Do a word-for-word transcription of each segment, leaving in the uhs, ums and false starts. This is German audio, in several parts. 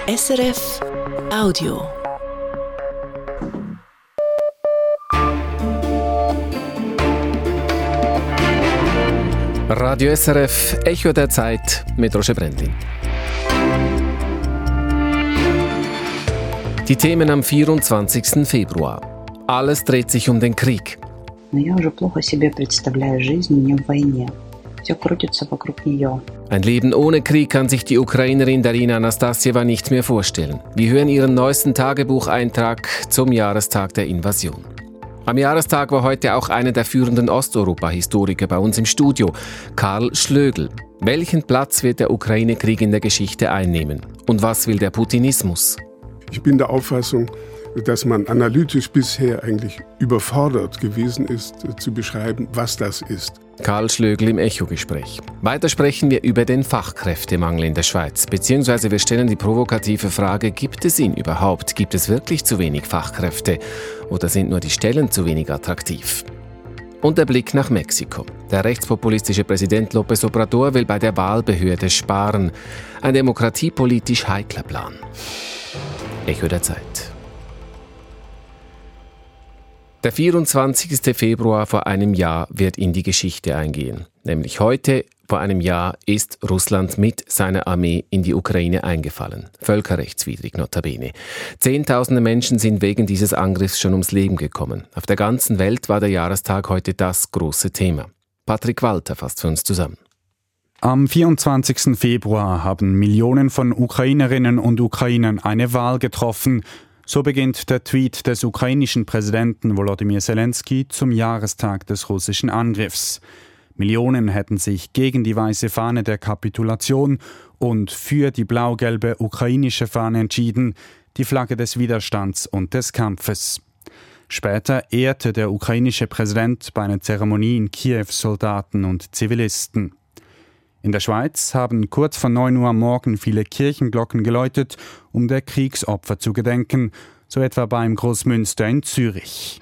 S R F Audio. Radio S R F, Echo der Zeit mit Roger Brendlin. Die Themen am vierundzwanzigsten Februar. Alles dreht sich um den Krieg. Ein Leben ohne Krieg kann sich die Ukrainerin Darina Anastassjeva nicht mehr vorstellen. Wir hören ihren neuesten Tagebucheintrag zum Jahrestag der Invasion. Am Jahrestag war heute auch einer der führenden Osteuropa-Historiker bei uns im Studio, Karl Schlögl. Welchen Platz wird der Ukraine-Krieg in der Geschichte einnehmen? Und was will der Putinismus? Ich bin der Auffassung, dass man analytisch bisher eigentlich überfordert gewesen ist, zu beschreiben, was das ist. Karl Schlögl im Echo-Gespräch. Weiter sprechen wir über den Fachkräftemangel in der Schweiz. Beziehungsweise wir stellen die provokative Frage, gibt es ihn überhaupt? Gibt es wirklich zu wenig Fachkräfte? Oder sind nur die Stellen zu wenig attraktiv? Und der Blick nach Mexiko. Der rechtspopulistische Präsident López Obrador will bei der Wahlbehörde sparen. Ein demokratiepolitisch heikler Plan. Echo der Zeit. Der vierundzwanzigsten Februar vor einem Jahr wird in die Geschichte eingehen. Nämlich heute, vor einem Jahr, ist Russland mit seiner Armee in die Ukraine eingefallen. Völkerrechtswidrig notabene. Zehntausende Menschen sind wegen dieses Angriffs schon ums Leben gekommen. Auf der ganzen Welt war der Jahrestag heute das große Thema. Patrick Walter fasst für uns zusammen. Am vierundzwanzigsten Februar haben Millionen von Ukrainerinnen und Ukrainern eine Wahl getroffen. So beginnt der Tweet des ukrainischen Präsidenten Volodymyr Zelensky zum Jahrestag des russischen Angriffs. Millionen hätten sich gegen die weiße Fahne der Kapitulation und für die blau-gelbe ukrainische Fahne entschieden, die Flagge des Widerstands und des Kampfes. Später ehrte der ukrainische Präsident bei einer Zeremonie in Kiew Soldaten und Zivilisten. In der Schweiz haben kurz vor neun Uhr am Morgen viele Kirchenglocken geläutet, um der Kriegsopfer zu gedenken, so etwa beim Großmünster in Zürich.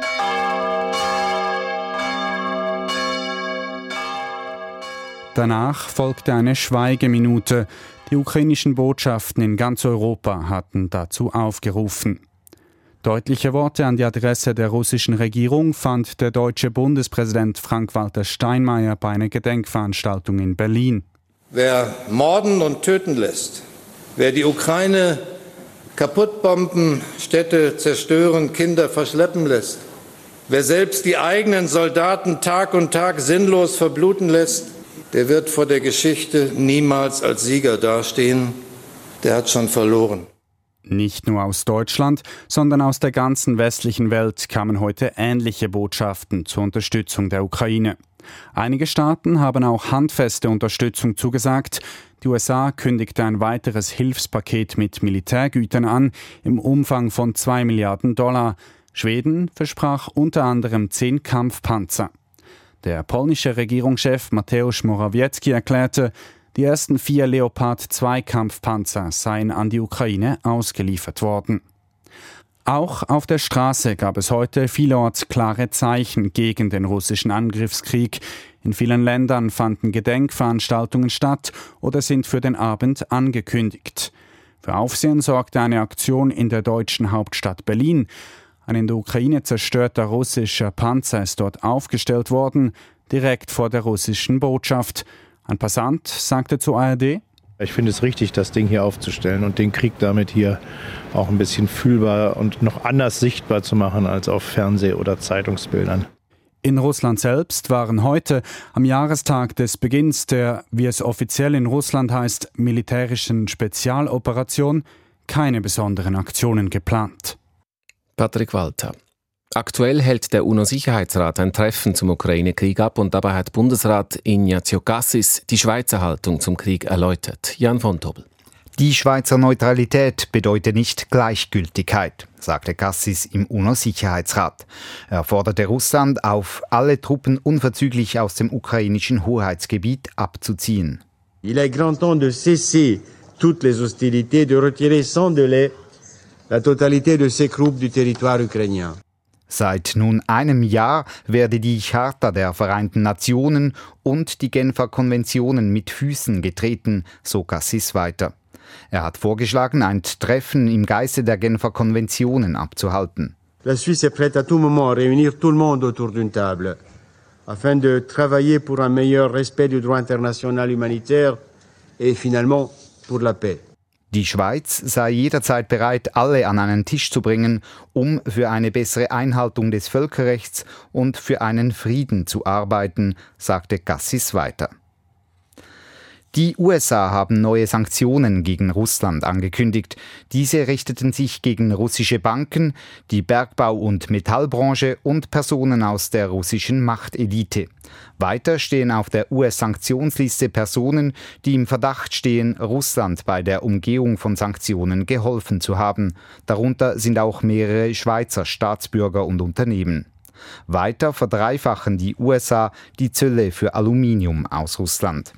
Danach folgte eine Schweigeminute. Die ukrainischen Botschaften in ganz Europa hatten dazu aufgerufen. Deutliche Worte an die Adresse der russischen Regierung fand der deutsche Bundespräsident Frank-Walter Steinmeier bei einer Gedenkveranstaltung in Berlin. Wer morden und töten lässt, wer die Ukraine kaputtbomben, Städte zerstören, Kinder verschleppen lässt, wer selbst die eigenen Soldaten Tag und Tag sinnlos verbluten lässt, der wird vor der Geschichte niemals als Sieger dastehen. Der hat schon verloren. Nicht nur aus Deutschland, sondern aus der ganzen westlichen Welt kamen heute ähnliche Botschaften zur Unterstützung der Ukraine. Einige Staaten haben auch handfeste Unterstützung zugesagt. Die U S A kündigte ein weiteres Hilfspaket mit Militärgütern an, im Umfang von zwei Milliarden Dollar. Schweden versprach unter anderem zehn Kampfpanzer. Der polnische Regierungschef Mateusz Morawiecki erklärte, die ersten vier Leopard zwei Kampfpanzer seien an die Ukraine ausgeliefert worden. Auch auf der Straße gab es heute vielerorts klare Zeichen gegen den russischen Angriffskrieg. In vielen Ländern fanden Gedenkveranstaltungen statt oder sind für den Abend angekündigt. Für Aufsehen sorgte eine Aktion in der deutschen Hauptstadt Berlin. Ein in der Ukraine zerstörter russischer Panzer ist dort aufgestellt worden, direkt vor der russischen Botschaft. Ein Passant sagte zur A R D: Ich finde es richtig, das Ding hier aufzustellen und den Krieg damit hier auch ein bisschen fühlbar und noch anders sichtbar zu machen als auf Fernseh- oder Zeitungsbildern. In Russland selbst waren heute, am Jahrestag des Beginns der, wie es offiziell in Russland heißt, militärischen Spezialoperation, keine besonderen Aktionen geplant. Patrick Walter. Aktuell hält der UNO-Sicherheitsrat ein Treffen zum Ukraine-Krieg ab und dabei hat Bundesrat Ignazio Cassis die Schweizer Haltung zum Krieg erläutert. Jan von Tobel. Die Schweizer Neutralität bedeutet nicht Gleichgültigkeit, sagte Cassis im UNO-Sicherheitsrat. Er forderte Russland auf, alle Truppen unverzüglich aus dem ukrainischen Hoheitsgebiet abzuziehen. Il est grand temps de cesser toutes les hostilités, de retirer sans délai la totalité de ces troupes du territoire ukrainien. Seit nun einem Jahr werde die Charta der Vereinten Nationen und die Genfer Konventionen mit Füßen getreten, so Cassis weiter. Er hat vorgeschlagen, ein Treffen im Geiste der Genfer Konventionen abzuhalten. La Suisse est prête à tout moment à réunir tout le monde autour d'une table, afin de travailler pour un meilleur respect du droit international humanitaire et finalement pour la paix. Die Schweiz sei jederzeit bereit, alle an einen Tisch zu bringen, um für eine bessere Einhaltung des Völkerrechts und für einen Frieden zu arbeiten, sagte Cassis weiter. Die U S A haben neue Sanktionen gegen Russland angekündigt. Diese richteten sich gegen russische Banken, die Bergbau- und Metallbranche und Personen aus der russischen Machtelite. Weiter stehen auf der U S-Sanktionsliste Personen, die im Verdacht stehen, Russland bei der Umgehung von Sanktionen geholfen zu haben. Darunter sind auch mehrere Schweizer Staatsbürger und Unternehmen. Weiter verdreifachen die U S A die Zölle für Aluminium aus Russland.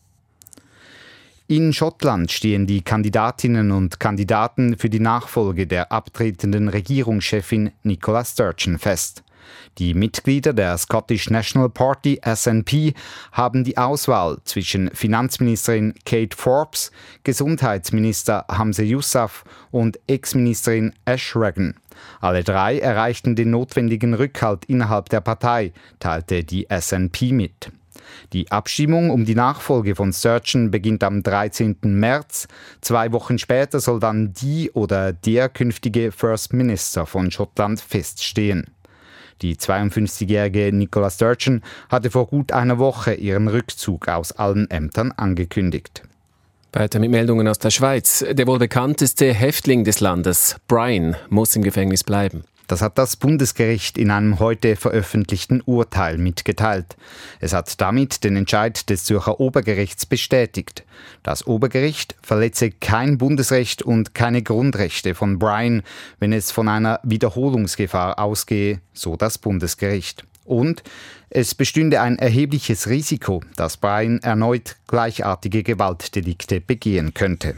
In Schottland stehen die Kandidatinnen und Kandidaten für die Nachfolge der abtretenden Regierungschefin Nicola Sturgeon fest. Die Mitglieder der Scottish National Party S N P haben die Auswahl zwischen Finanzministerin Kate Forbes, Gesundheitsminister Hamza Yousaf und Ex-Ministerin Ash Regan. Alle drei erreichten den notwendigen Rückhalt innerhalb der Partei, teilte die S N P mit. Die Abstimmung um die Nachfolge von Sturgeon beginnt am dreizehnten März. Zwei Wochen später soll dann die oder der künftige First Minister von Schottland feststehen. Die zweiundfünfzigjährige Nicola Sturgeon hatte vor gut einer Woche ihren Rückzug aus allen Ämtern angekündigt. Weiter mit Meldungen aus der Schweiz. Der wohl bekannteste Häftling des Landes, Brian, muss im Gefängnis bleiben. Das hat das Bundesgericht in einem heute veröffentlichten Urteil mitgeteilt. Es hat damit den Entscheid des Zürcher Obergerichts bestätigt. Das Obergericht verletze kein Bundesrecht und keine Grundrechte von Brian, wenn es von einer Wiederholungsgefahr ausgehe, so das Bundesgericht. Und es bestünde ein erhebliches Risiko, dass Brian erneut gleichartige Gewaltdelikte begehen könnte.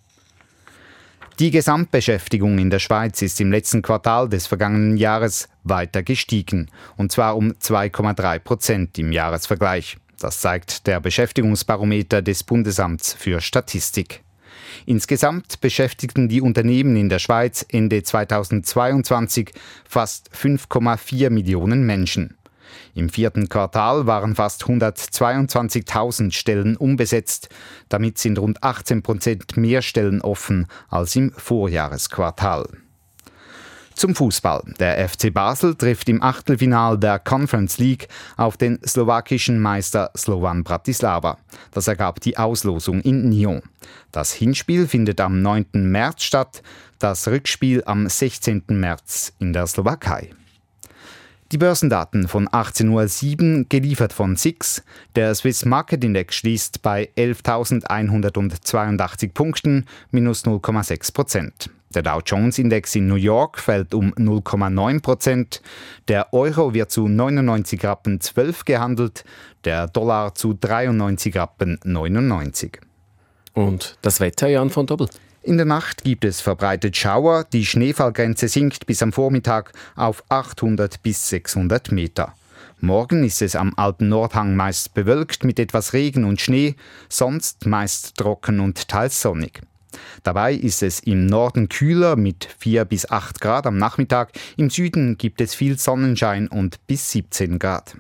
Die Gesamtbeschäftigung in der Schweiz ist im letzten Quartal des vergangenen Jahres weiter gestiegen, und zwar um zwei Komma drei Prozent im Jahresvergleich. Das zeigt der Beschäftigungsbarometer des Bundesamts für Statistik. Insgesamt beschäftigten die Unternehmen in der Schweiz Ende zweitausendzweiundzwanzig fast fünf Komma vier Millionen Menschen. Im vierten Quartal waren fast hundertzweiundzwanzigtausend Stellen unbesetzt. Damit sind rund achtzehn Prozent mehr Stellen offen als im Vorjahresquartal. Zum Fußball. Der F C Basel trifft im Achtelfinal der Conference League auf den slowakischen Meister Slovan Bratislava. Das ergab die Auslosung in Nyon. Das Hinspiel findet am neunten März statt, das Rückspiel am sechzehnten März in der Slowakei. Die Börsendaten von achtzehn Uhr sieben, geliefert von S I X. Der Swiss Market Index schließt bei elftausendeinhundertzweiundachtzig Punkten, minus null Komma sechs Prozent. Der Dow Jones Index in New York fällt um null Komma neun Prozent. Der Euro wird zu neunundneunzig Rappen zwölf gehandelt, der Dollar zu dreiundneunzig Rappen neunundneunzig. Und das Wetter, Jan von Dobbel? In der Nacht gibt es verbreitet Schauer. Die Schneefallgrenze sinkt bis am Vormittag auf achthundert bis sechshundert Meter. Morgen ist es am Alpen-Nordhang meist bewölkt mit etwas Regen und Schnee, sonst meist trocken und teils sonnig. Dabei ist es im Norden kühler mit vier bis acht Grad am Nachmittag. Im Süden gibt es viel Sonnenschein und bis siebzehn Grad.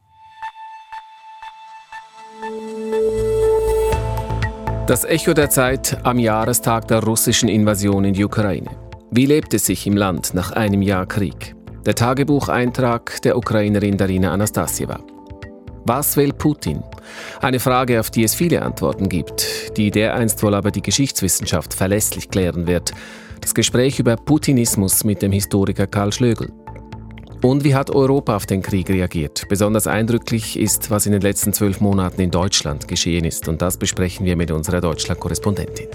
Das Echo der Zeit am Jahrestag der russischen Invasion in die Ukraine. Wie lebt es sich im Land nach einem Jahr Krieg? Der Tagebucheintrag der Ukrainerin Darina Anastasieva. Was will Putin? Eine Frage, auf die es viele Antworten gibt, die dereinst wohl aber die Geschichtswissenschaft verlässlich klären wird. Das Gespräch über Putinismus mit dem Historiker Karl Schlögl. Und wie hat Europa auf den Krieg reagiert? Besonders eindrücklich ist, was in den letzten zwölf Monaten in Deutschland geschehen ist. Und das besprechen wir mit unserer Deutschland-Korrespondentin.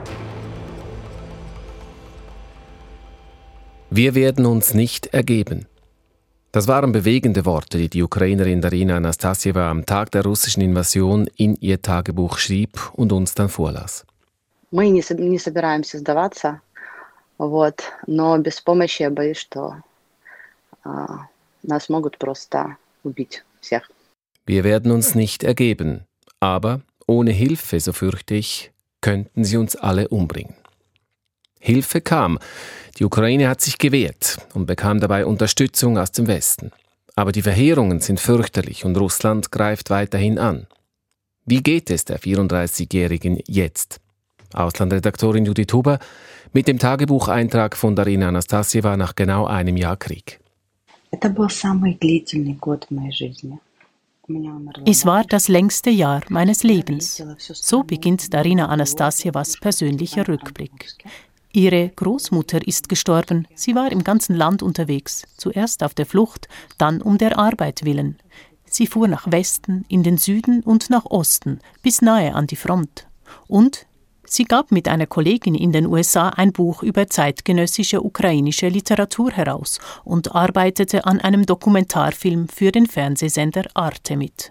Wir werden uns nicht ergeben. Das waren bewegende Worte, die die Ukrainerin Darina Anastasieva am Tag der russischen Invasion in ihr Tagebuch schrieb und uns dann vorlas. Мы не собираемся сдаваться, вот, но без помощи я боюсь, что нас могут просто убить всех. Wir werden uns nicht ergeben, aber ohne Hilfe, so fürchte ich, könnten sie uns alle umbringen. Hilfe kam. Die Ukraine hat sich gewehrt und bekam dabei Unterstützung aus dem Westen. Aber die Verheerungen sind fürchterlich und Russland greift weiterhin an. Wie geht es der vierunddreißigjährigen jetzt? Auslandredaktorin Judith Huber mit dem Tagebucheintrag von Darina Anastasjewa nach genau einem Jahr Krieg. Es war das längste Jahr meines Lebens. So beginnt Darina Anastasjewas persönlicher Rückblick. Ihre Großmutter ist gestorben. Sie war im ganzen Land unterwegs, zuerst auf der Flucht, dann um der Arbeit willen. Sie fuhr nach Westen, in den Süden und nach Osten, bis nahe an die Front. Und sie gab mit einer Kollegin in den U S A ein Buch über zeitgenössische ukrainische Literatur heraus und arbeitete an einem Dokumentarfilm für den Fernsehsender Arte mit.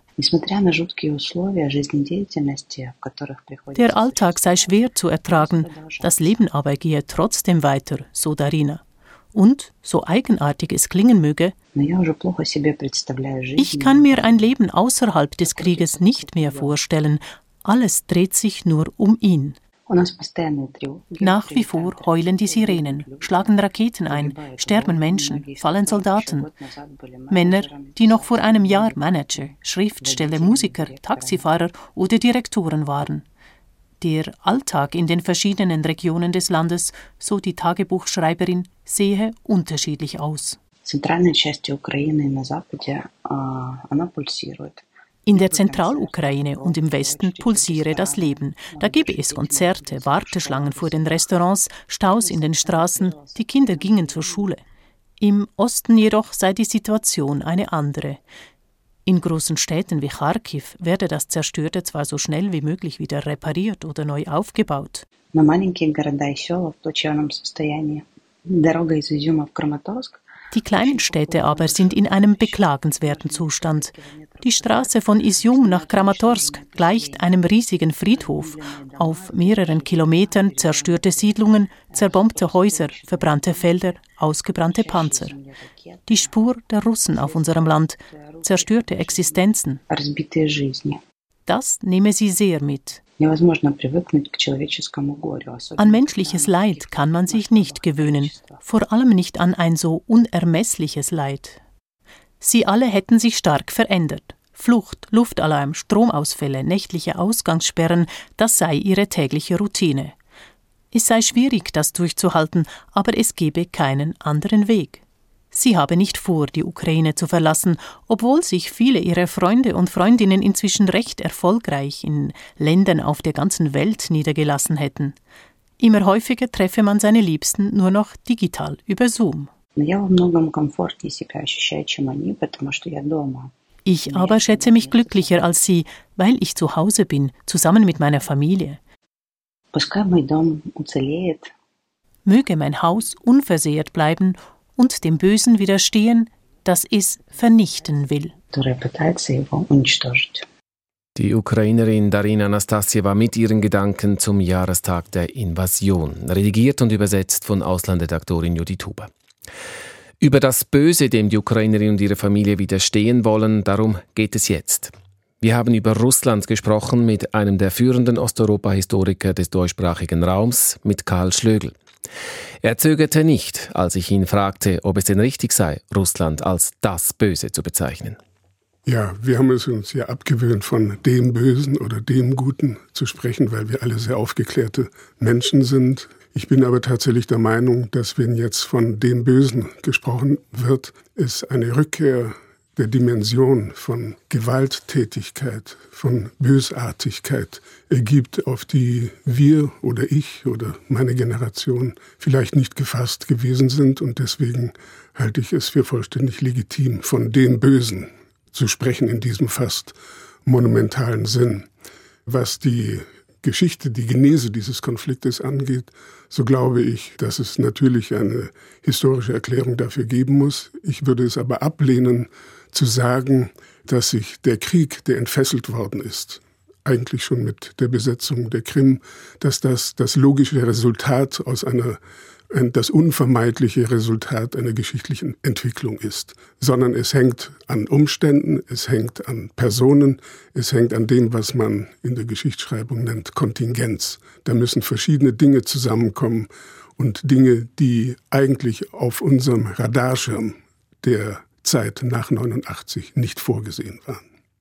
Der Alltag sei schwer zu ertragen, das Leben aber gehe trotzdem weiter, so Darina. Und, so eigenartig es klingen möge, ich kann mir ein Leben außerhalb des Krieges nicht mehr vorstellen. Alles dreht sich nur um ihn. Nach wie vor heulen die Sirenen, schlagen Raketen ein, sterben Menschen, fallen Soldaten. Männer, die noch vor einem Jahr Manager, Schriftsteller, Musiker, Taxifahrer oder Direktoren waren. Der Alltag in den verschiedenen Regionen des Landes, so die Tagebuchschreiberin, sehe unterschiedlich aus. In der Zentralukraine und im Westen pulsiere das Leben. Da gebe es Konzerte, Warteschlangen vor den Restaurants, Staus in den Straßen, die Kinder gingen zur Schule. Im Osten jedoch sei die Situation eine andere. In großen Städten wie Charkiw werde das Zerstörte zwar so schnell wie möglich wieder repariert oder neu aufgebaut. Die kleinen Städte aber sind in einem beklagenswerten Zustand. Die Straße von Izjum nach Kramatorsk gleicht einem riesigen Friedhof. Auf mehreren Kilometern zerstörte Siedlungen, zerbombte Häuser, verbrannte Felder, ausgebrannte Panzer. Die Spur der Russen auf unserem Land, zerstörte Existenzen. Das nehme sie sehr mit. An menschliches Leid kann man sich nicht gewöhnen, vor allem nicht an ein so unermessliches Leid. Sie alle hätten sich stark verändert. Flucht, Luftalarm, Stromausfälle, nächtliche Ausgangssperren, das sei ihre tägliche Routine. Es sei schwierig, das durchzuhalten, aber es gebe keinen anderen Weg. Sie habe nicht vor, die Ukraine zu verlassen, obwohl sich viele ihrer Freunde und Freundinnen inzwischen recht erfolgreich in Ländern auf der ganzen Welt niedergelassen hätten. Immer häufiger treffe man seine Liebsten nur noch digital über Zoom. Ich aber schätze mich glücklicher als sie, weil ich zu Hause bin, zusammen mit meiner Familie. Möge mein Haus unversehrt bleiben und dem Bösen widerstehen, das es vernichten will. Die Ukrainerin Darina Anastasjewa mit ihren Gedanken zum Jahrestag der Invasion, redigiert und übersetzt von Auslandredaktorin Judith Huber. Über das Böse, dem die Ukrainerin und ihre Familie widerstehen wollen, darum geht es jetzt. Wir haben über Russland gesprochen mit einem der führenden Osteuropa-Historiker des deutschsprachigen Raums, mit Karl Schlögl. Er zögerte nicht, als ich ihn fragte, ob es denn richtig sei, Russland als das Böse zu bezeichnen. Ja, wir haben es uns ja abgewöhnt, von dem Bösen oder dem Guten zu sprechen, weil wir alle sehr aufgeklärte Menschen sind. Ich bin aber tatsächlich der Meinung, dass wenn jetzt von dem Bösen gesprochen wird, es eine Rückkehr der Dimension von Gewalttätigkeit, von Bösartigkeit ergibt, auf die wir oder ich oder meine Generation vielleicht nicht gefasst gewesen sind. Und deswegen halte ich es für vollständig legitim, von dem Bösen zu sprechen in diesem fast monumentalen Sinn. Was die Geschichte, die Genese dieses Konfliktes angeht, so glaube ich, dass es natürlich eine historische Erklärung dafür geben muss. Ich würde es aber ablehnen, zu sagen, dass sich der Krieg, der entfesselt worden ist, eigentlich schon mit der Besetzung der Krim, dass das das logische Resultat aus einer, das unvermeidliche Resultat einer geschichtlichen Entwicklung ist, sondern es hängt an Umständen, es hängt an Personen, es hängt an dem, was man in der Geschichtsschreibung nennt Kontingenz. Da müssen verschiedene Dinge zusammenkommen und Dinge, die eigentlich auf unserem Radarschirm der Zeit nach neunundachtzig nicht vorgesehen waren.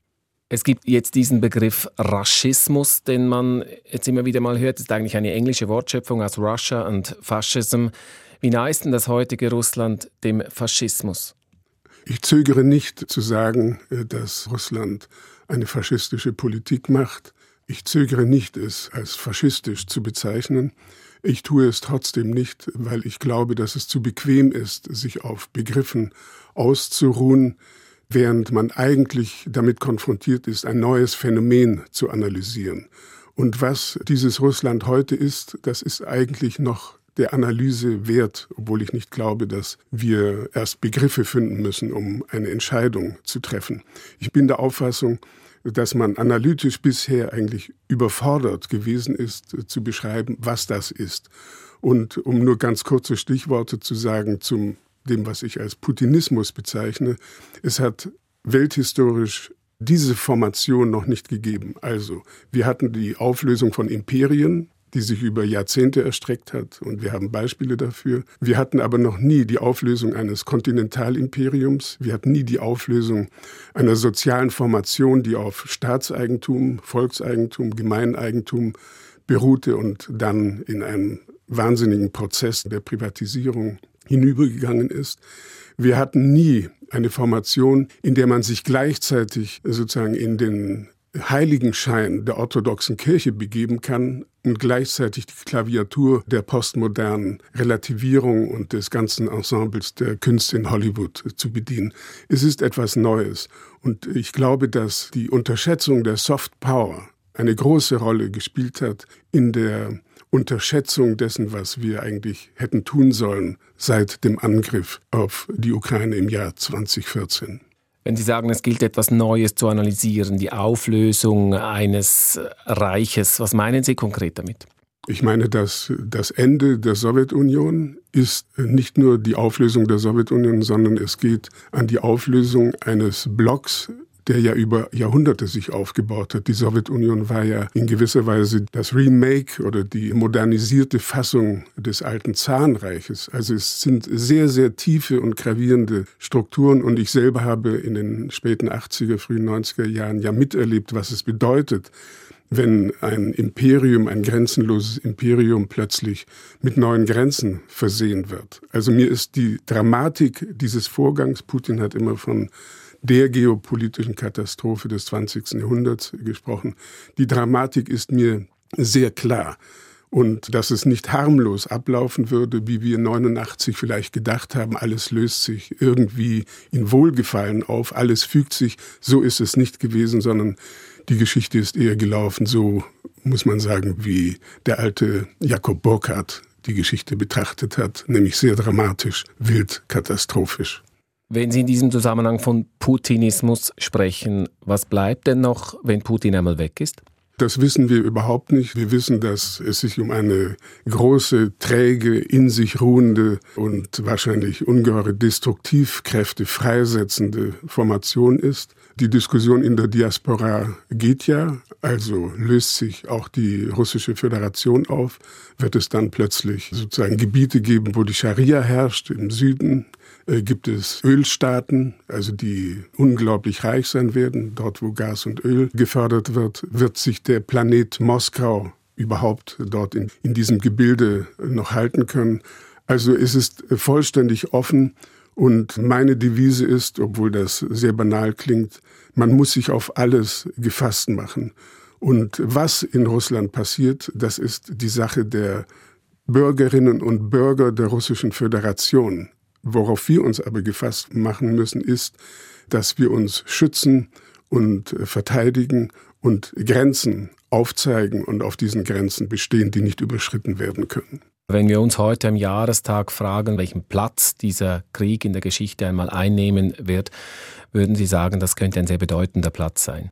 Es gibt jetzt diesen Begriff Raschismus, den man jetzt immer wieder mal hört. Das ist eigentlich eine englische Wortschöpfung aus Russia und Fascism. Wie nah ist denn das heutige Russland dem Faschismus? Ich zögere nicht zu sagen, dass Russland eine faschistische Politik macht. Ich zögere nicht, es als faschistisch zu bezeichnen. Ich tue es trotzdem nicht, weil ich glaube, dass es zu bequem ist, sich auf Begriffen auszuruhen, während man eigentlich damit konfrontiert ist, ein neues Phänomen zu analysieren. Und was dieses Russland heute ist, das ist eigentlich noch der Analyse wert, obwohl ich nicht glaube, dass wir erst Begriffe finden müssen, um eine Entscheidung zu treffen. Ich bin der Auffassung, dass man analytisch bisher eigentlich überfordert gewesen ist, zu beschreiben, was das ist. Und um nur ganz kurze Stichworte zu sagen zum dem, was ich als Putinismus bezeichne, es hat welthistorisch diese Formation noch nicht gegeben. Also, wir hatten die Auflösung von Imperien, die sich über Jahrzehnte erstreckt hat, und wir haben Beispiele dafür. Wir hatten aber noch nie die Auflösung eines Kontinentalimperiums. Wir hatten nie die Auflösung einer sozialen Formation, die auf Staatseigentum, Volkseigentum, Gemeineigentum beruhte und dann in einem wahnsinnigen Prozess der Privatisierung hinübergegangen ist. Wir hatten nie eine Formation, in der man sich gleichzeitig sozusagen in den Heiligenschein der orthodoxen Kirche begeben kann und gleichzeitig die Klaviatur der postmodernen Relativierung und des ganzen Ensembles der Künste in Hollywood zu bedienen. Es ist etwas Neues. Und ich glaube, dass die Unterschätzung der Soft Power eine große Rolle gespielt hat in der Unterschätzung dessen, was wir eigentlich hätten tun sollen seit dem Angriff auf die Ukraine im Jahr zwanzig vierzehn. Wenn Sie sagen, es gilt etwas Neues zu analysieren, die Auflösung eines Reiches, was meinen Sie konkret damit? Ich meine, dass das Ende der Sowjetunion ist nicht nur die Auflösung der Sowjetunion, sondern es geht an die Auflösung eines Blocks, der ja über Jahrhunderte sich aufgebaut hat. Die Sowjetunion war ja in gewisser Weise das Remake oder die modernisierte Fassung des alten Zarenreiches. Also es sind sehr, sehr tiefe und gravierende Strukturen, und ich selber habe in den späten achtziger, frühen neunziger Jahren ja miterlebt, was es bedeutet, wenn ein Imperium, ein grenzenloses Imperium plötzlich mit neuen Grenzen versehen wird. Also mir ist die Dramatik dieses Vorgangs, Putin hat immer von der geopolitischen Katastrophe des zwanzigsten Jahrhunderts gesprochen. Die Dramatik ist mir sehr klar. Und dass es nicht harmlos ablaufen würde, wie wir neunundachtzig vielleicht gedacht haben, alles löst sich irgendwie in Wohlgefallen auf, alles fügt sich, so ist es nicht gewesen, sondern die Geschichte ist eher gelaufen, so muss man sagen, wie der alte Jakob Burckhardt die Geschichte betrachtet hat, nämlich sehr dramatisch, wild, katastrophisch. Wenn Sie in diesem Zusammenhang von Putinismus sprechen, was bleibt denn noch, wenn Putin einmal weg ist? Das wissen wir überhaupt nicht. Wir wissen, dass es sich um eine große, träge, in sich ruhende und wahrscheinlich ungeheure Destruktivkräfte freisetzende Formation ist. Die Diskussion in der Diaspora geht ja, also löst sich auch die russische Föderation auf, wird es dann plötzlich sozusagen Gebiete geben, wo die Scharia herrscht im Süden. Äh, gibt es Ölstaaten, also die unglaublich reich sein werden. Dort, wo Gas und Öl gefördert wird, wird sich der Planet Moskau überhaupt dort in, in diesem Gebilde noch halten können. Also es ist vollständig offen, und meine Devise ist, obwohl das sehr banal klingt, man muss sich auf alles gefasst machen. Und was in Russland passiert, das ist die Sache der Bürgerinnen und Bürger der Russischen Föderation. Worauf wir uns aber gefasst machen müssen, ist, dass wir uns schützen und verteidigen und Grenzen aufzeigen und auf diesen Grenzen bestehen, die nicht überschritten werden können. Wenn wir uns heute am Jahrestag fragen, welchen Platz dieser Krieg in der Geschichte einmal einnehmen wird, würden Sie sagen, das könnte ein sehr bedeutender Platz sein?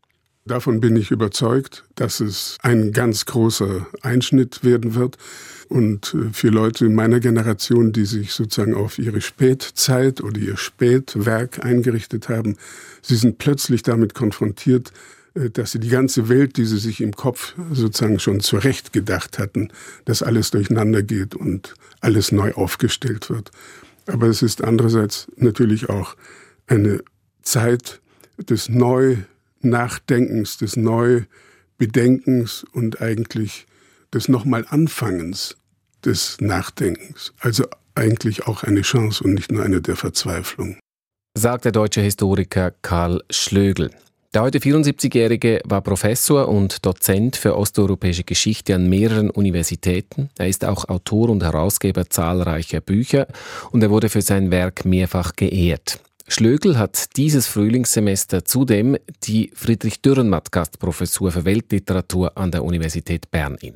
Davon bin ich überzeugt, dass es ein ganz großer Einschnitt werden wird. Und für Leute meiner Generation, die sich sozusagen auf ihre Spätzeit oder ihr Spätwerk eingerichtet haben, sie sind plötzlich damit konfrontiert, dass sie die ganze Welt, die sie sich im Kopf sozusagen schon zurecht gedacht hatten, dass alles durcheinander geht und alles neu aufgestellt wird. Aber es ist andererseits natürlich auch eine Zeit des Neu-Nachdenkens, des Neu-Bedenkens und eigentlich des Nochmal-Anfangens des Nachdenkens. Also eigentlich auch eine Chance und nicht nur eine der Verzweiflung. Sagt der deutsche Historiker Karl Schlögl. Der heute vierundsiebzigjährige war Professor und Dozent für osteuropäische Geschichte an mehreren Universitäten. Er ist auch Autor und Herausgeber zahlreicher Bücher und er wurde für sein Werk mehrfach geehrt. Schlögl hat dieses Frühlingssemester zudem die Friedrich-Dürrenmatt-Gastprofessur für Weltliteratur an der Universität Bern inne.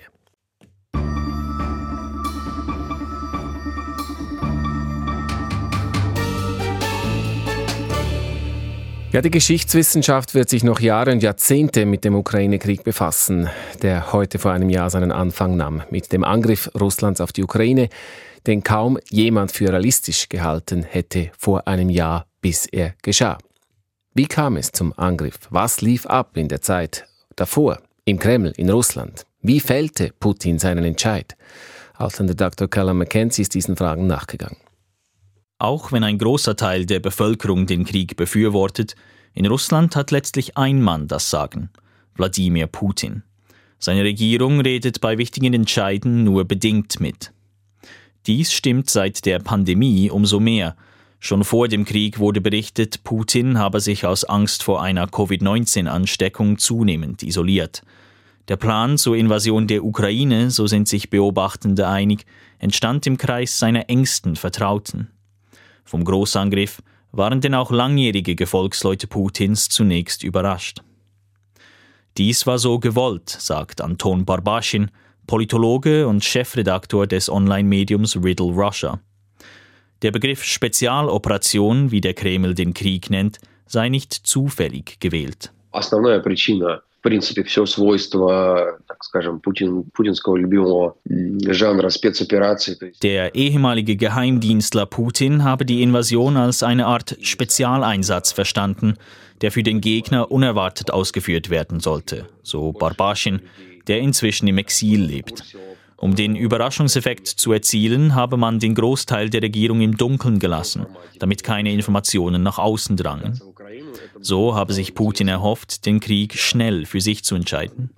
Ja, die Geschichtswissenschaft wird sich noch Jahre und Jahrzehnte mit dem Ukraine-Krieg befassen, der heute vor einem Jahr seinen Anfang nahm. Mit dem Angriff Russlands auf die Ukraine, den kaum jemand für realistisch gehalten hätte vor einem Jahr, bis er geschah. Wie kam es zum Angriff? Was lief ab in der Zeit davor, im Kreml, in Russland? Wie fällte Putin seinen Entscheid? Ausländer Doktor Callum Mackenzie ist diesen Fragen nachgegangen. Auch wenn ein großer Teil der Bevölkerung den Krieg befürwortet, in Russland hat letztlich ein Mann das Sagen: Wladimir Putin. Seine Regierung redet bei wichtigen Entscheiden nur bedingt mit. Dies stimmt seit der Pandemie umso mehr. Schon vor dem Krieg wurde berichtet, Putin habe sich aus Angst vor einer Covid neunzehn Ansteckung zunehmend isoliert. Der Plan zur Invasion der Ukraine, so sind sich Beobachtende einig, entstand im Kreis seiner engsten Vertrauten. Vom Großangriff waren denn auch langjährige Gefolgsleute Putins zunächst überrascht. Dies war so gewollt, sagt Anton Barbaschin, Politologe und Chefredaktor des Online-Mediums Riddle Russia. Der Begriff Spezialoperation, wie der Kreml den Krieg nennt, sei nicht zufällig gewählt. Основная причина, в принципе, все свойство, так скажем, Путин, путинского любимого жанра спецопераций. Der ehemalige Geheimdienstler Putin habe die Invasion als eine Art Spezialeinsatz verstanden, der für den Gegner unerwartet ausgeführt werden sollte, so Barbaschin, der inzwischen im Exil lebt. Um den Überraschungseffekt zu erzielen, habe man den Großteil der Regierung im Dunkeln gelassen, damit keine Informationen nach außen drangen. So habe sich Putin erhofft, den Krieg schnell für sich zu entscheiden.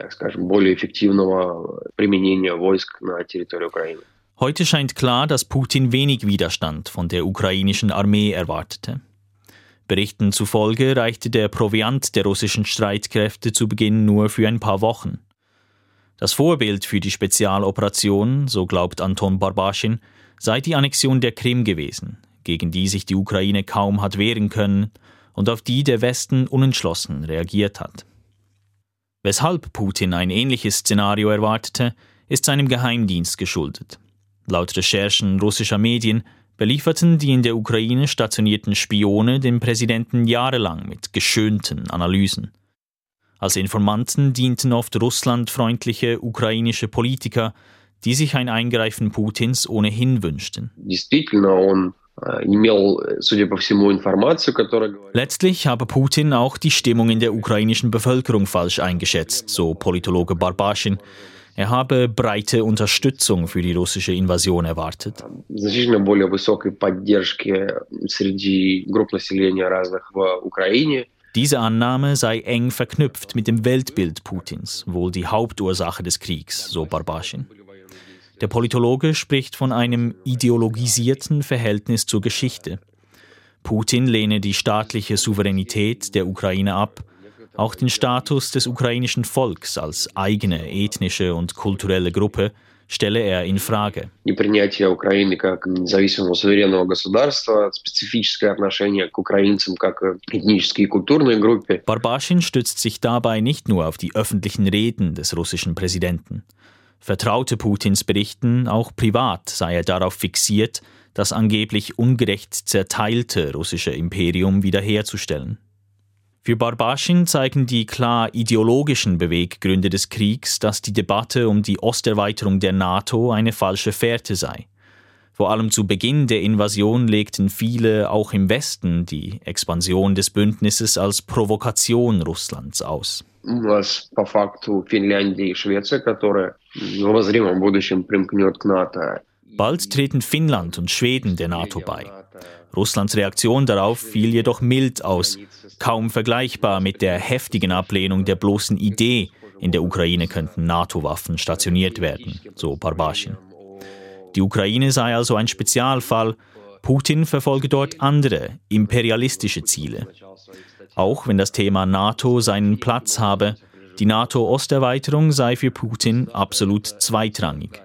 Heute scheint klar, dass Putin wenig Widerstand von der ukrainischen Armee erwartete. Berichten zufolge reichte der Proviant der russischen Streitkräfte zu Beginn nur für ein paar Wochen. Das Vorbild für die Spezialoperation, so glaubt Anton Barbaschin, sei die Annexion der Krim gewesen, gegen die sich die Ukraine kaum hat wehren können und auf die der Westen unentschlossen reagiert hat. Weshalb Putin ein ähnliches Szenario erwartete, ist seinem Geheimdienst geschuldet. Laut Recherchen russischer Medien belieferten die in der Ukraine stationierten Spione den Präsidenten jahrelang mit geschönten Analysen. Als Informanten dienten oft russlandfreundliche ukrainische Politiker, die sich ein Eingreifen Putins ohnehin wünschten. Letztlich habe Putin auch die Stimmung in der ukrainischen Bevölkerung falsch eingeschätzt, so Politologe Barbaschin. Er habe breite Unterstützung für die russische Invasion erwartet. Diese Annahme sei eng verknüpft mit dem Weltbild Putins, wohl die Hauptursache des Kriegs, so Barbaschin. Der Politologe spricht von einem ideologisierten Verhältnis zur Geschichte. Putin lehne die staatliche Souveränität der Ukraine ab, auch den Status des ukrainischen Volks als eigene ethnische und kulturelle Gruppe stelle er in Frage. Barbaschin stützt sich dabei nicht nur auf die öffentlichen Reden des russischen Präsidenten. Vertraute Putins Berichten, auch privat sei er darauf fixiert, das angeblich ungerecht zerteilte russische Imperium wiederherzustellen. Für Barbaschin zeigen die klar ideologischen Beweggründe des Kriegs, dass die Debatte um die Osterweiterung der NATO eine falsche Fährte sei. Vor allem zu Beginn der Invasion legten viele, auch im Westen, die Expansion des Bündnisses als Provokation Russlands aus. У нас по факту Финляндия и Швеция, которая в обозримом будущем примкнет к НАТО. Bald treten Finnland und Schweden der NATO bei. Russlands Reaktion darauf fiel jedoch mild aus, kaum vergleichbar mit der heftigen Ablehnung der bloßen Idee, in der Ukraine könnten NATO-Waffen stationiert werden, so Barbaschin. Die Ukraine sei also ein Spezialfall, Putin verfolge dort andere, imperialistische Ziele. Auch wenn das Thema NATO seinen Platz habe, die NATO-Osterweiterung sei für Putin absolut zweitrangig.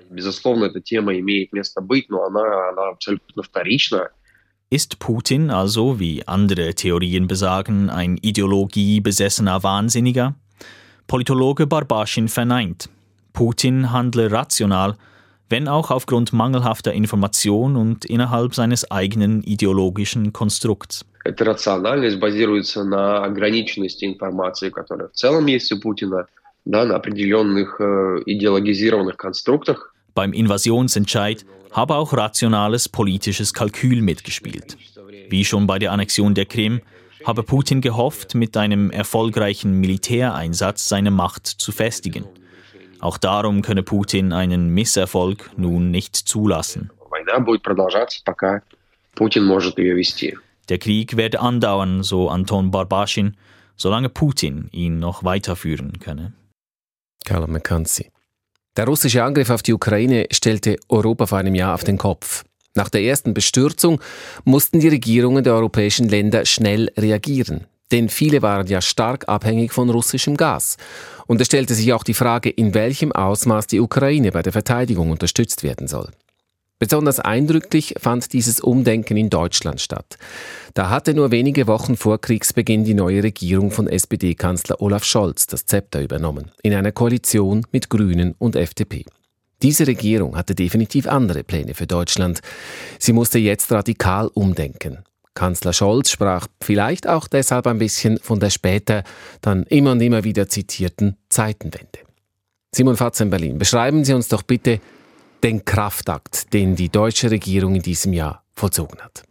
Ist Putin also, wie andere Theorien besagen, ein ideologiebesessener Wahnsinniger? Politologe Barbaschin verneint. Putin handle rational, wenn auch aufgrund mangelhafter Information und innerhalb seines eigenen ideologischen Konstrukts. Эта рациональность базируется на ограниченности информации, которая в целом есть у Путина, да, на определенных äh, ideologisierenden Konstruktах. Beim Invasionsentscheid habe auch rationales politisches Kalkül mitgespielt. Wie schon bei der Annexion der Krim habe Putin gehofft, mit einem erfolgreichen Militäreinsatz seine Macht zu festigen. Auch darum könne Putin einen Misserfolg nun nicht zulassen. Война будет продолжаться, пока Путин может ее вести. Der Krieg werde andauern, so Anton Barbaschin, solange Putin ihn noch weiterführen könne. Carlo McKenzie. Der russische Angriff auf die Ukraine stellte Europa vor einem Jahr auf den Kopf. Nach der ersten Bestürzung mussten die Regierungen der europäischen Länder schnell reagieren. Denn viele waren ja stark abhängig von russischem Gas. Und es stellte sich auch die Frage, in welchem Ausmaß die Ukraine bei der Verteidigung unterstützt werden soll. Besonders eindrücklich fand dieses Umdenken in Deutschland statt. Da hatte nur wenige Wochen vor Kriegsbeginn die neue Regierung von S P D-Kanzler Olaf Scholz das Zepter übernommen, in einer Koalition mit Grünen und F D P. Diese Regierung hatte definitiv andere Pläne für Deutschland. Sie musste jetzt radikal umdenken. Kanzler Scholz sprach vielleicht auch deshalb ein bisschen von der später dann immer und immer wieder zitierten Zeitenwende. Simon Fatz in Berlin, beschreiben Sie uns doch bitte den Kraftakt, den die deutsche Regierung in diesem Jahr vollzogen hat.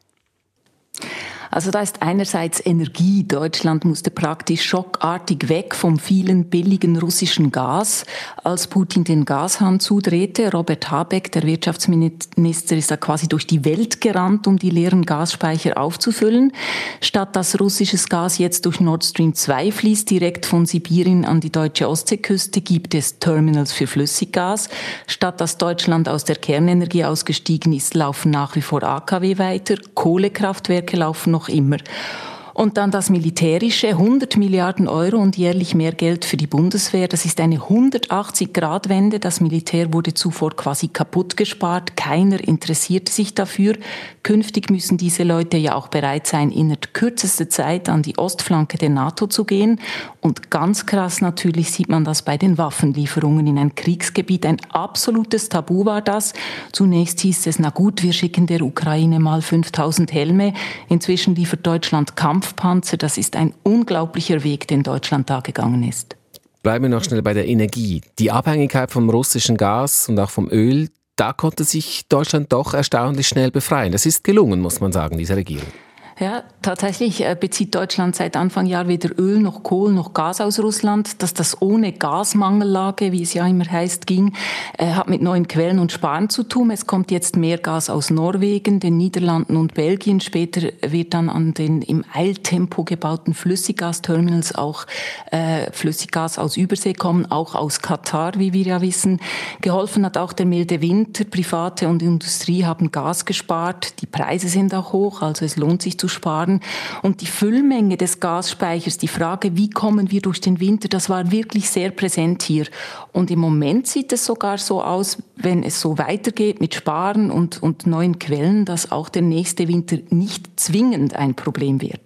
Also da ist einerseits Energie. Deutschland musste praktisch schockartig weg vom vielen billigen russischen Gas, als Putin den Gashahn zudrehte. Robert Habeck, der Wirtschaftsminister, ist da quasi durch die Welt gerannt, um die leeren Gasspeicher aufzufüllen. Statt dass russisches Gas jetzt durch Nord Stream zwei fließt, direkt von Sibirien an die deutsche Ostseeküste, gibt es Terminals für Flüssiggas. Statt dass Deutschland aus der Kernenergie ausgestiegen ist, laufen nach wie vor A K W weiter. Kohlekraftwerke laufen noch immer. Und dann das Militärische, hundert Milliarden Euro und jährlich mehr Geld für die Bundeswehr. Das ist eine hundertachtzig-Grad-Wende. Das Militär wurde zuvor quasi kaputt gespart. Keiner interessierte sich dafür. Künftig müssen diese Leute ja auch bereit sein, innerhalb kürzester Zeit an die Ostflanke der NATO zu gehen. Und ganz krass natürlich sieht man das bei den Waffenlieferungen in ein Kriegsgebiet. Ein absolutes Tabu war das. Zunächst hieß es, na gut, wir schicken der Ukraine mal fünftausend Helme. Inzwischen liefert Deutschland Kampf Kampfpanzer, das ist ein unglaublicher Weg, den Deutschland da gegangen ist. Bleiben wir noch schnell bei der Energie. Die Abhängigkeit vom russischen Gas und auch vom Öl, da konnte sich Deutschland doch erstaunlich schnell befreien. Das ist gelungen, muss man sagen, dieser Regierung. Ja, tatsächlich bezieht Deutschland seit Anfang Jahr weder Öl noch Kohle noch Gas aus Russland. Dass das ohne Gasmangellage, wie es ja immer heißt, ging, hat mit neuen Quellen und Sparen zu tun. Es kommt jetzt mehr Gas aus Norwegen, den Niederlanden und Belgien. Später wird dann an den im Eiltempo gebauten Flüssiggasterminals auch äh, Flüssiggas aus Übersee kommen, auch aus Katar, wie wir ja wissen. Geholfen hat auch der milde Winter. Private und Industrie haben Gas gespart. Die Preise sind auch hoch, also es lohnt sich zu sparen. Und die Füllmenge des Gasspeichers, die Frage, wie kommen wir durch den Winter, das war wirklich sehr präsent hier. Und im Moment sieht es sogar so aus, wenn es so weitergeht mit Sparen und, und neuen Quellen, dass auch der nächste Winter nicht zwingend ein Problem wird.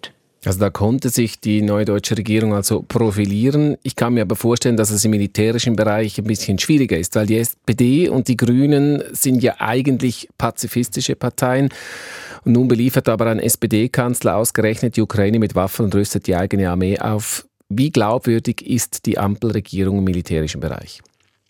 Also da konnte sich die neue deutsche Regierung also profilieren. Ich kann mir aber vorstellen, dass es im militärischen Bereich ein bisschen schwieriger ist, weil die S P D und die Grünen sind ja eigentlich pazifistische Parteien. Und nun beliefert aber ein S P D-Kanzler ausgerechnet die Ukraine mit Waffen und rüstet die eigene Armee auf. Wie glaubwürdig ist die Ampelregierung im militärischen Bereich?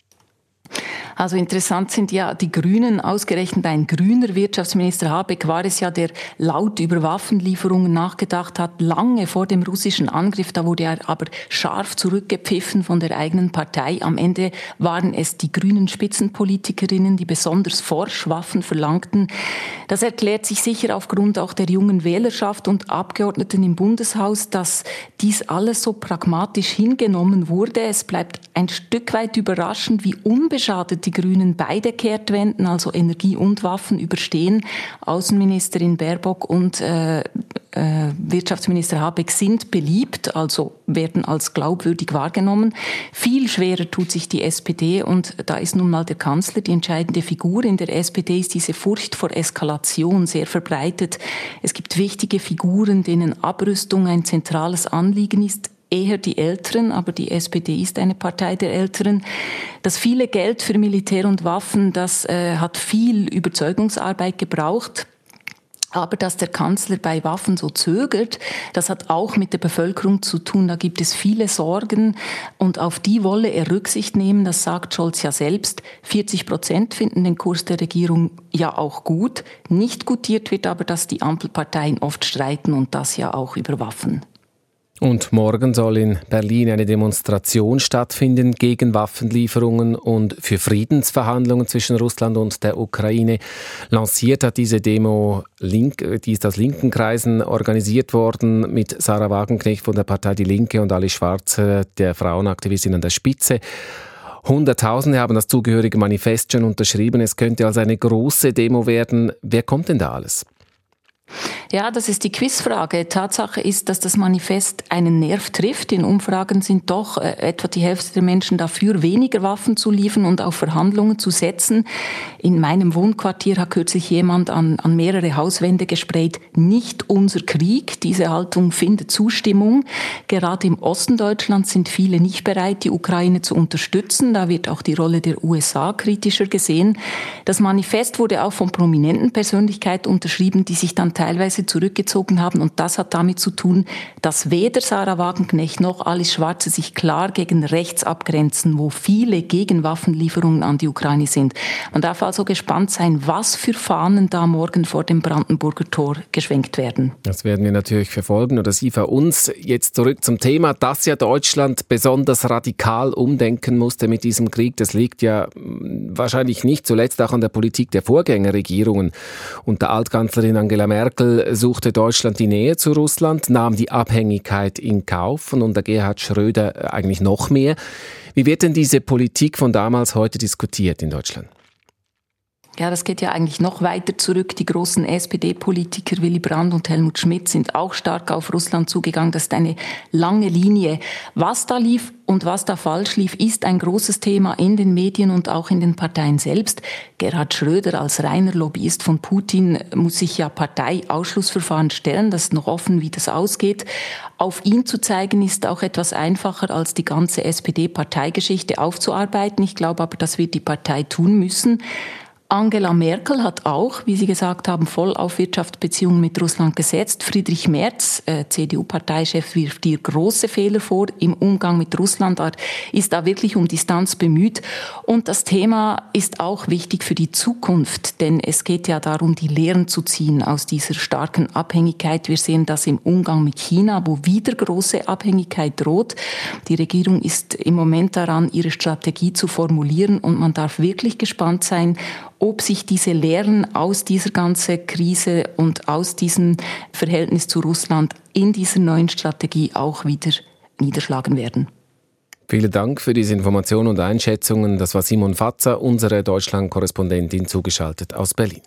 Also interessant sind ja die Grünen, ausgerechnet ein grüner Wirtschaftsminister Habeck war es ja, der laut über Waffenlieferungen nachgedacht hat, lange vor dem russischen Angriff. Da wurde er aber scharf zurückgepfiffen von der eigenen Partei. Am Ende waren es die grünen Spitzenpolitikerinnen, die besonders forsch Waffen verlangten. Das erklärt sich sicher aufgrund auch der jungen Wählerschaft und Abgeordneten im Bundeshaus, dass dies alles so pragmatisch hingenommen wurde. Es bleibt ein Stück weit überraschend, wie unbeschadet die Grünen beide Kehrtwenden, also Energie und Waffen, überstehen. Außenministerin Baerbock und äh, äh, Wirtschaftsminister Habeck sind beliebt, also werden als glaubwürdig wahrgenommen. Viel schwerer tut sich die S P D und da ist nun mal der Kanzler die entscheidende Figur. In der S P D ist diese Furcht vor Eskalation sehr verbreitet. Es gibt wichtige Figuren, denen Abrüstung ein zentrales Anliegen ist. Eher die Älteren, aber die S P D ist eine Partei der Älteren. Das viele Geld für Militär und Waffen, das äh, hat viel Überzeugungsarbeit gebraucht. Aber dass der Kanzler bei Waffen so zögert, das hat auch mit der Bevölkerung zu tun. Da gibt es viele Sorgen und auf die wolle er Rücksicht nehmen. Das sagt Scholz ja selbst. vierzig Prozent finden den Kurs der Regierung ja auch gut. Nicht gutiert wird aber, dass die Ampelparteien oft streiten und das ja auch über Waffen. Und morgen soll in Berlin eine Demonstration stattfinden gegen Waffenlieferungen und für Friedensverhandlungen zwischen Russland und der Ukraine. Lanciert hat diese Demo, Link, die ist aus linken Kreisen organisiert worden, mit Sarah Wagenknecht von der Partei Die Linke und Alice Schwarzer, der Frauenaktivistin, an der Spitze. Hunderttausende haben das zugehörige Manifest schon unterschrieben. Es könnte also eine große Demo werden. Wer kommt denn da alles? Ja, das ist die Quizfrage. Tatsache ist, dass das Manifest einen Nerv trifft. In Umfragen sind doch äh, etwa die Hälfte der Menschen dafür, weniger Waffen zu liefern und auf Verhandlungen zu setzen. In meinem Wohnquartier hat kürzlich jemand an, an mehrere Hauswände gesprayt, nicht unser Krieg. Diese Haltung findet Zustimmung. Gerade im Osten Deutschlands sind viele nicht bereit, die Ukraine zu unterstützen. Da wird auch die Rolle der U S A kritischer gesehen. Das Manifest wurde auch von prominenten Persönlichkeiten unterschrieben, die sich dann teilweise zurückgezogen haben. Und das hat damit zu tun, dass weder Sarah Wagenknecht noch Alice Schwarzer sich klar gegen rechts abgrenzen, wo viele gegen Waffenlieferungen an die Ukraine sind. Man darf also gespannt sein, was für Fahnen da morgen vor dem Brandenburger Tor geschwenkt werden. Das werden wir natürlich verfolgen, oder Sie für uns. Jetzt zurück zum Thema, dass ja Deutschland besonders radikal umdenken musste mit diesem Krieg. Das liegt ja wahrscheinlich nicht zuletzt auch an der Politik der Vorgängerregierungen. Unter Altkanzlerin Angela Merkel suchte Deutschland die Nähe zu Russland, nahm die Abhängigkeit in Kauf und unter Gerhard Schröder eigentlich noch mehr. Wie wird denn diese Politik von damals heute diskutiert in Deutschland? Ja, das geht ja eigentlich noch weiter zurück. Die großen S P D-Politiker Willy Brandt und Helmut Schmidt sind auch stark auf Russland zugegangen. Das ist eine lange Linie. Was da lief und was da falsch lief, ist ein großes Thema in den Medien und auch in den Parteien selbst. Gerhard Schröder als reiner Lobbyist von Putin muss sich ja Parteiausschlussverfahren stellen. Das ist noch offen, wie das ausgeht. Auf ihn zu zeigen, ist auch etwas einfacher, als die ganze S P D-Parteigeschichte aufzuarbeiten. Ich glaube aber, das wird die Partei tun müssen. Angela Merkel hat auch, wie Sie gesagt haben, voll auf Wirtschaftsbeziehungen mit Russland gesetzt. Friedrich Merz, äh, C D U-Parteichef, wirft ihr große Fehler vor im Umgang mit Russland. Er ist da wirklich um Distanz bemüht. Und das Thema ist auch wichtig für die Zukunft, denn es geht ja darum, die Lehren zu ziehen aus dieser starken Abhängigkeit. Wir sehen das im Umgang mit China, wo wieder große Abhängigkeit droht. Die Regierung ist im Moment daran, ihre Strategie zu formulieren und man darf wirklich gespannt sein, ob sich diese Lehren aus dieser ganzen Krise und aus diesem Verhältnis zu Russland in dieser neuen Strategie auch wieder niederschlagen werden. Vielen Dank für diese Informationen und Einschätzungen. Das war Simon Fatzer, unsere Deutschland-Korrespondentin, zugeschaltet aus Berlin.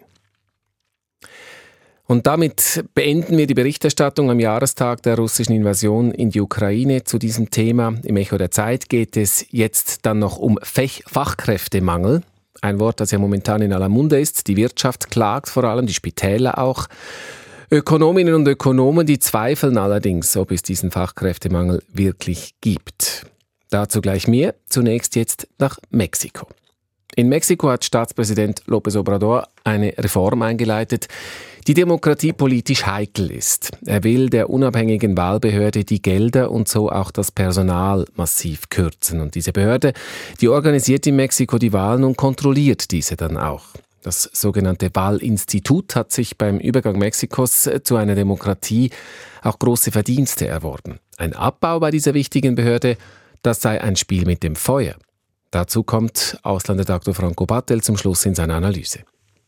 Und damit beenden wir die Berichterstattung am Jahrestag der russischen Invasion in die Ukraine zu diesem Thema. Im Echo der Zeit geht es jetzt dann noch um Fachkräftemangel. Ein Wort, das ja momentan in aller Munde ist. Die Wirtschaft klagt vor allem, die Spitäler auch. Ökonominnen und Ökonomen, die zweifeln allerdings, ob es diesen Fachkräftemangel wirklich gibt. Dazu gleich mehr. Zunächst jetzt nach Mexiko. In Mexiko hat Staatspräsident López Obrador eine Reform eingeleitet, die demokratiepolitisch heikel ist. Er will der unabhängigen Wahlbehörde die Gelder und so auch das Personal massiv kürzen. Und diese Behörde, die organisiert in Mexiko die Wahlen und kontrolliert diese dann auch. Das sogenannte Wahlinstitut hat sich beim Übergang Mexikos zu einer Demokratie auch große Verdienste erworben. Ein Abbau bei dieser wichtigen Behörde, das sei ein Spiel mit dem Feuer. Dazu kommt Ausländerredaktor Franco Battel zum Schluss in seiner Analyse.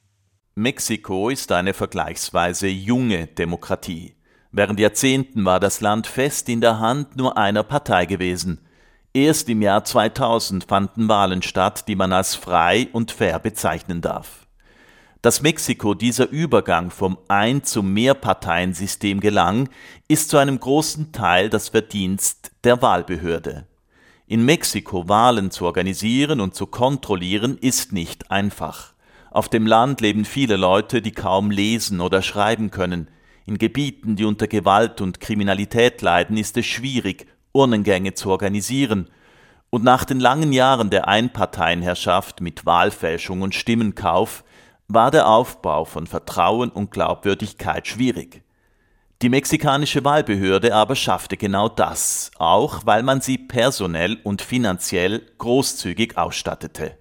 Mexiko ist eine vergleichsweise junge Demokratie. Während Jahrzehnten war das Land fest in der Hand nur einer Partei gewesen. Erst im Jahr zweitausend fanden Wahlen statt, die man als frei und fair bezeichnen darf. Dass Mexiko dieser Übergang vom Ein- zum Mehrparteiensystem gelang, ist zu einem großen Teil das Verdienst der Wahlbehörde. In Mexiko Wahlen zu organisieren und zu kontrollieren, ist nicht einfach. Auf dem Land leben viele Leute, die kaum lesen oder schreiben können. In Gebieten, die unter Gewalt und Kriminalität leiden, ist es schwierig, Urnengänge zu organisieren. Und nach den langen Jahren der Einparteienherrschaft mit Wahlfälschung und Stimmenkauf war der Aufbau von Vertrauen und Glaubwürdigkeit schwierig. Die mexikanische Wahlbehörde aber schaffte genau das, auch weil man sie personell und finanziell großzügig ausstattete.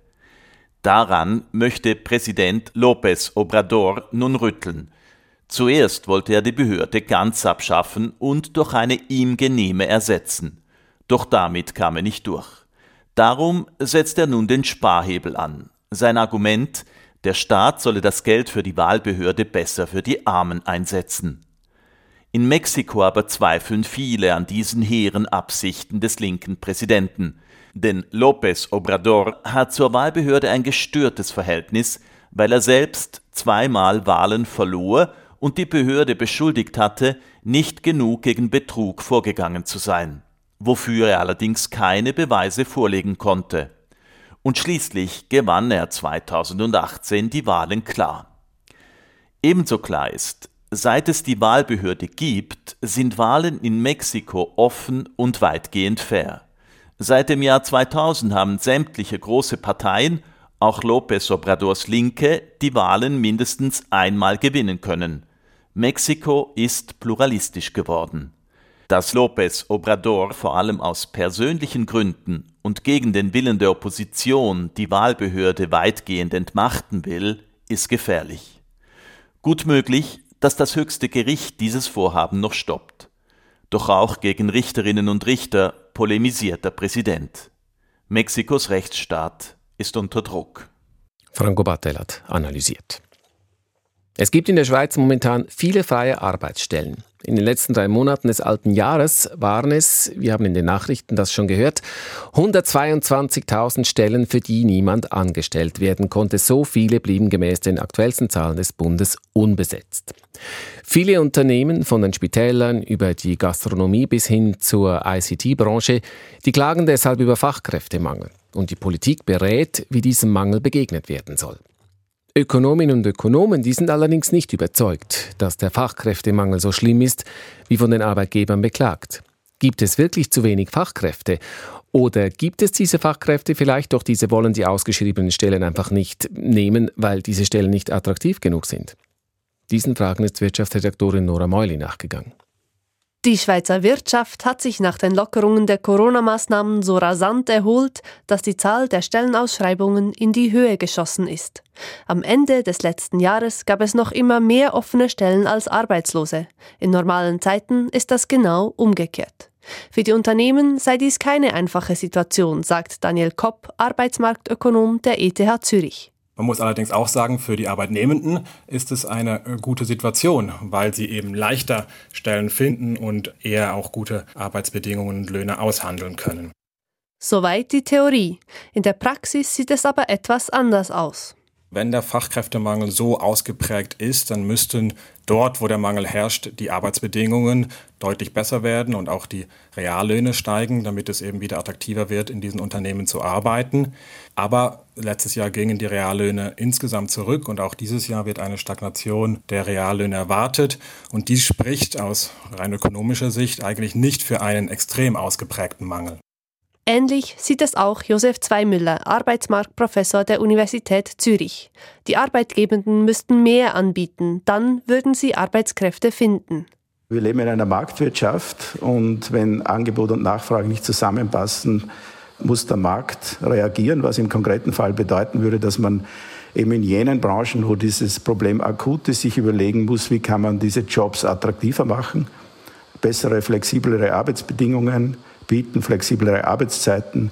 Daran möchte Präsident López Obrador nun rütteln. Zuerst wollte er die Behörde ganz abschaffen und durch eine ihm genehme ersetzen. Doch damit kam er nicht durch. Darum setzt er nun den Sparhebel an. Sein Argument: Der Staat solle das Geld für die Wahlbehörde besser für die Armen einsetzen. In Mexiko aber zweifeln viele an diesen hehren Absichten des linken Präsidenten. Denn López Obrador hat zur Wahlbehörde ein gestörtes Verhältnis, weil er selbst zweimal Wahlen verlor und die Behörde beschuldigt hatte, nicht genug gegen Betrug vorgegangen zu sein, wofür er allerdings keine Beweise vorlegen konnte. Und schließlich gewann er zweitausendachtzehn die Wahlen klar. Ebenso klar ist, seit es die Wahlbehörde gibt, sind Wahlen in Mexiko offen und weitgehend fair. Seit dem Jahr zweitausend haben sämtliche große Parteien, auch López Obradors Linke, die Wahlen mindestens einmal gewinnen können. Mexiko ist pluralistisch geworden. Dass López Obrador vor allem aus persönlichen Gründen und gegen den Willen der Opposition die Wahlbehörde weitgehend entmachten will, ist gefährlich. Gut möglich, dass das höchste Gericht dieses Vorhaben noch stoppt. Doch auch gegen Richterinnen und Richter polemisiert der Präsident. Mexikos Rechtsstaat ist unter Druck. Franco Battel hat analysiert. Es gibt in der Schweiz momentan viele freie Arbeitsstellen. In den letzten drei Monaten des alten Jahres waren es, wir haben in den Nachrichten das schon gehört, hundertzweiundzwanzigtausend Stellen, für die niemand angestellt werden konnte. So viele blieben gemäß den aktuellsten Zahlen des Bundes unbesetzt. Viele Unternehmen, von den Spitälern über die Gastronomie bis hin zur I C T-Branche, die klagen deshalb über Fachkräftemangel. Und die Politik berät, wie diesem Mangel begegnet werden soll. Ökonominnen und Ökonomen, die sind allerdings nicht überzeugt, dass der Fachkräftemangel so schlimm ist, wie von den Arbeitgebern beklagt. Gibt es wirklich zu wenig Fachkräfte? Oder gibt es diese Fachkräfte vielleicht, doch diese wollen die ausgeschriebenen Stellen einfach nicht nehmen, weil diese Stellen nicht attraktiv genug sind? Diesen Fragen ist Wirtschaftsredaktorin Nora Meuli nachgegangen. Die Schweizer Wirtschaft hat sich nach den Lockerungen der Corona-Maßnahmen so rasant erholt, dass die Zahl der Stellenausschreibungen in die Höhe geschossen ist. Am Ende des letzten Jahres gab es noch immer mehr offene Stellen als Arbeitslose. In normalen Zeiten ist das genau umgekehrt. Für die Unternehmen sei dies keine einfache Situation, sagt Daniel Kopp, Arbeitsmarktökonom der E T H Zürich. Man muss allerdings auch sagen, für die Arbeitnehmenden ist es eine gute Situation, weil sie eben leichter Stellen finden und eher auch gute Arbeitsbedingungen und Löhne aushandeln können. Soweit die Theorie. In der Praxis sieht es aber etwas anders aus. Wenn der Fachkräftemangel so ausgeprägt ist, dann müssten dort, wo der Mangel herrscht, die Arbeitsbedingungen deutlich besser werden und auch die Reallöhne steigen, damit es eben wieder attraktiver wird, in diesen Unternehmen zu arbeiten. Aber letztes Jahr gingen die Reallöhne insgesamt zurück und auch dieses Jahr wird eine Stagnation der Reallöhne erwartet. Und dies spricht aus rein ökonomischer Sicht eigentlich nicht für einen extrem ausgeprägten Mangel. Ähnlich sieht es auch Josef Zweimüller, Arbeitsmarktprofessor der Universität Zürich. Die Arbeitgebenden müssten mehr anbieten, dann würden sie Arbeitskräfte finden. Wir leben in einer Marktwirtschaft und wenn Angebot und Nachfrage nicht zusammenpassen, muss der Markt reagieren, was im konkreten Fall bedeuten würde, dass man eben in jenen Branchen, wo dieses Problem akut ist, sich überlegen muss, wie kann man diese Jobs attraktiver machen, bessere, flexiblere Arbeitsbedingungen bieten, flexiblere Arbeitszeiten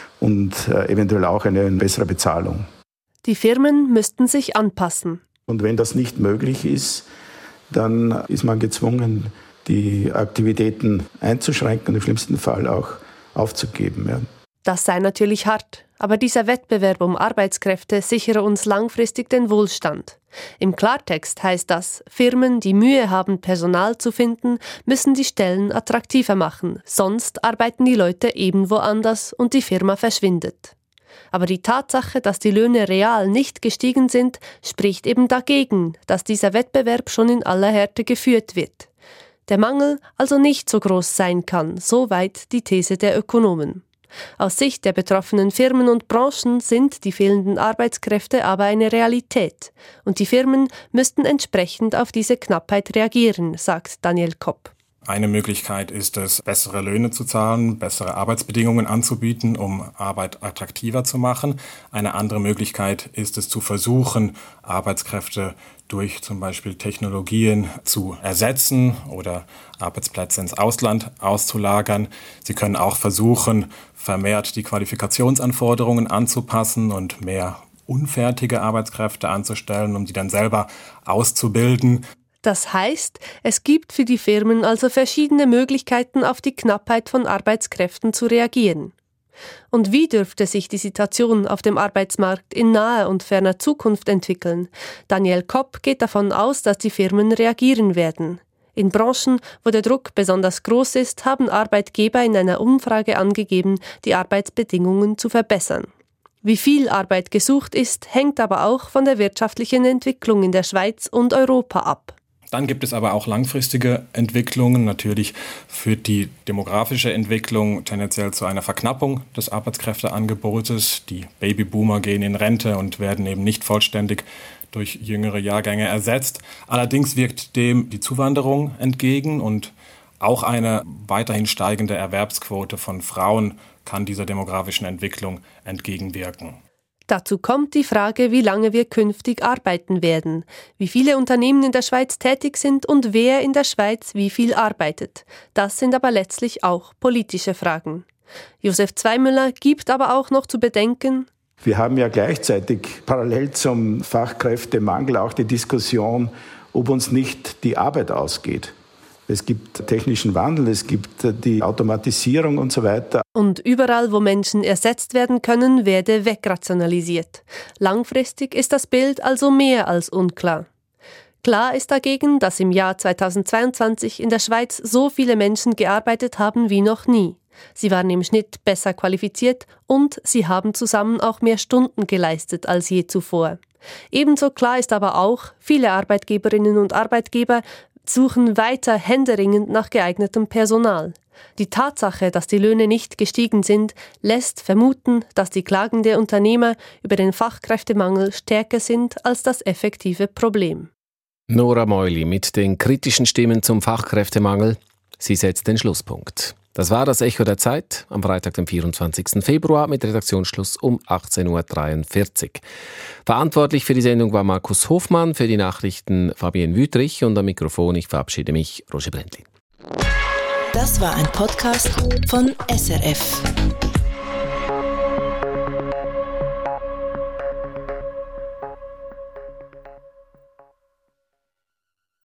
und äh, eventuell auch eine bessere Bezahlung. Die Firmen müssten sich anpassen. Und wenn das nicht möglich ist, dann ist man gezwungen, die Aktivitäten einzuschränken und im schlimmsten Fall auch aufzugeben. Ja. Das sei natürlich hart, aber dieser Wettbewerb um Arbeitskräfte sichere uns langfristig den Wohlstand. Im Klartext heißt das, Firmen, die Mühe haben, Personal zu finden, müssen die Stellen attraktiver machen, sonst arbeiten die Leute eben woanders und die Firma verschwindet. Aber die Tatsache, dass die Löhne real nicht gestiegen sind, spricht eben dagegen, dass dieser Wettbewerb schon in aller Härte geführt wird. Der Mangel also nicht so groß sein kann, soweit die These der Ökonomen. Aus Sicht der betroffenen Firmen und Branchen sind die fehlenden Arbeitskräfte aber eine Realität. Und die Firmen müssten entsprechend auf diese Knappheit reagieren, sagt Daniel Kopp. Eine Möglichkeit ist es, bessere Löhne zu zahlen, bessere Arbeitsbedingungen anzubieten, um Arbeit attraktiver zu machen. Eine andere Möglichkeit ist es zu versuchen, Arbeitskräfte durch zum Beispiel Technologien zu ersetzen oder Arbeitsplätze ins Ausland auszulagern. Sie können auch versuchen, vermehrt die Qualifikationsanforderungen anzupassen und mehr unfertige Arbeitskräfte anzustellen, um sie dann selber auszubilden. Das heißt, es gibt für die Firmen also verschiedene Möglichkeiten, auf die Knappheit von Arbeitskräften zu reagieren. Und wie dürfte sich die Situation auf dem Arbeitsmarkt in naher und ferner Zukunft entwickeln? Daniel Kopp geht davon aus, dass die Firmen reagieren werden. In Branchen, wo der Druck besonders groß ist, haben Arbeitgeber in einer Umfrage angegeben, die Arbeitsbedingungen zu verbessern. Wie viel Arbeit gesucht ist, hängt aber auch von der wirtschaftlichen Entwicklung in der Schweiz und Europa ab. Dann gibt es aber auch langfristige Entwicklungen. Natürlich führt die demografische Entwicklung tendenziell zu einer Verknappung des Arbeitskräfteangebotes. Die Babyboomer gehen in Rente und werden eben nicht vollständig durch jüngere Jahrgänge ersetzt. Allerdings wirkt dem die Zuwanderung entgegen und auch eine weiterhin steigende Erwerbsquote von Frauen kann dieser demografischen Entwicklung entgegenwirken. Dazu kommt die Frage, wie lange wir künftig arbeiten werden, wie viele Unternehmen in der Schweiz tätig sind und wer in der Schweiz wie viel arbeitet. Das sind aber letztlich auch politische Fragen. Josef Zweimüller gibt aber auch noch zu bedenken: Wir haben ja gleichzeitig parallel zum Fachkräftemangel auch die Diskussion, ob uns nicht die Arbeit ausgeht. Es gibt technischen Wandel, es gibt die Automatisierung und so weiter. Und überall, wo Menschen ersetzt werden können, werde wegrationalisiert. Langfristig ist das Bild also mehr als unklar. Klar ist dagegen, dass im Jahr zweitausendzweiundzwanzig in der Schweiz so viele Menschen gearbeitet haben wie noch nie. Sie waren im Schnitt besser qualifiziert und sie haben zusammen auch mehr Stunden geleistet als je zuvor. Ebenso klar ist aber auch, viele Arbeitgeberinnen und Arbeitgeber suchen weiter händeringend nach geeignetem Personal. Die Tatsache, dass die Löhne nicht gestiegen sind, lässt vermuten, dass die Klagen der Unternehmer über den Fachkräftemangel stärker sind als das effektive Problem. Nora Meuli mit den kritischen Stimmen zum Fachkräftemangel. Sie setzt den Schlusspunkt. Das war das Echo der Zeit am Freitag, dem vierundzwanzigsten Februar mit Redaktionsschluss um achtzehn Uhr dreiundvierzig. Verantwortlich für die Sendung war Markus Hofmann, für die Nachrichten Fabienne Wüthrich und am Mikrofon, ich verabschiede mich, Roger Brändli. Das war ein Podcast von S R F.